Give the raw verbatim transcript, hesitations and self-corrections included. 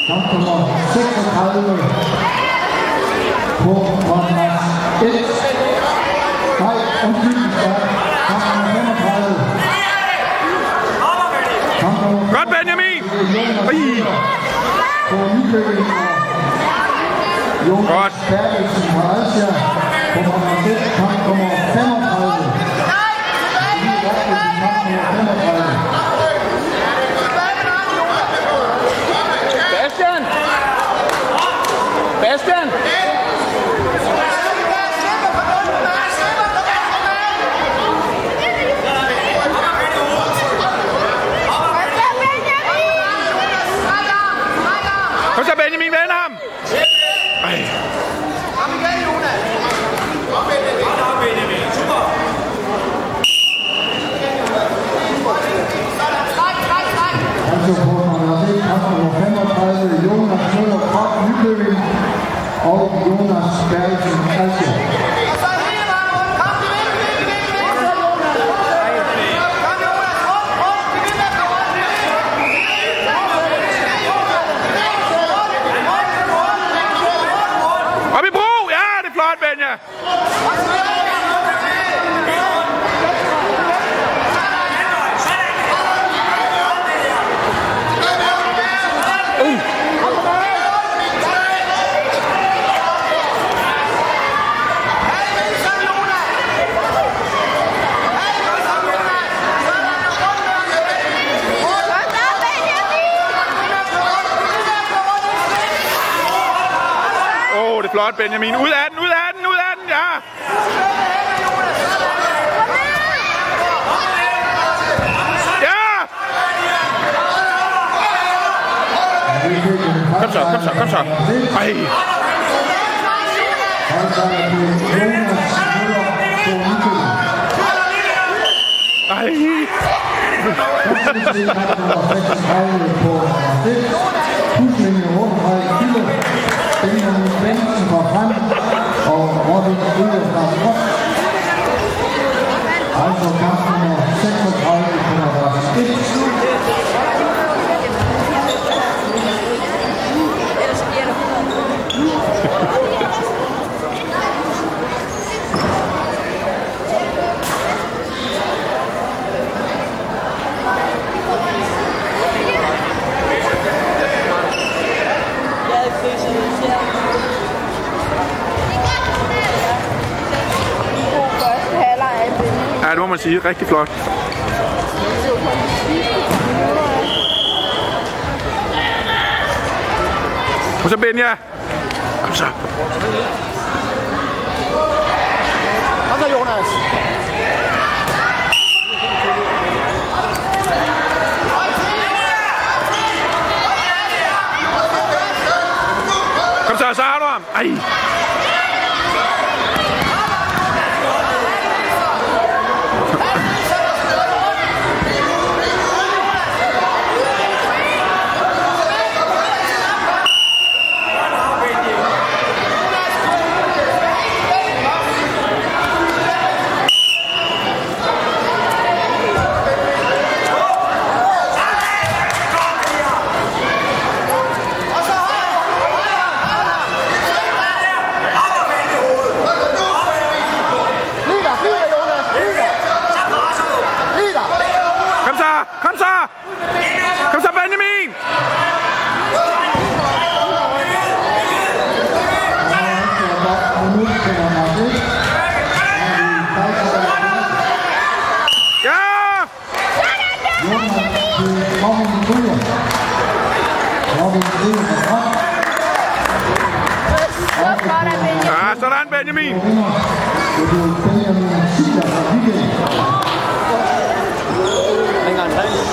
Kamp nummer seksogtredive på kontrakt et. Nej, undskyld, kamp nummer femogtredive. Kamp nummer godt, Benjamin! På Nykøbing og Jonas Bertelsen fra Asia på kontrakt et. Kamp nummer femogtredive. Bastian! Bastian! Kom så, Benjamin, vend ham! Ej. Kom igen, Jonas! Kom, Benjamin! Kom, Benjamin! Super! Træk, træk, træk! Altså på kontrakt et, kamp nummer femogtredive, Jonas Møller fra Nykøbing og Jonas Bertelsen Asia. Og så hele vejen rundt. Kom, de vil, de vil, de vil, de vil! Kom, Jonas! Rundt, rundt! De vil, der rundt! Op i bro! Ja, det er flot, Benja! Åh, oh, det er flot, Benjamin. Ud af den, ud af den, ud af den, ja! Ja! Kom så, kom så, kom så. Ej! Ej! Benjamin Svendsen fra frem og Robin Ryger fra frem. Altså kamp nummer seksogtredive på kontrakt et. Ja, det må man sige. Rigtig flot. Kom så, Benja. Kom så. Kom så, Jonas. Kom så, så har du ham. Ej. Kom så! Kom så, Benjamin! Ja! Ja, sådan, Benjamin!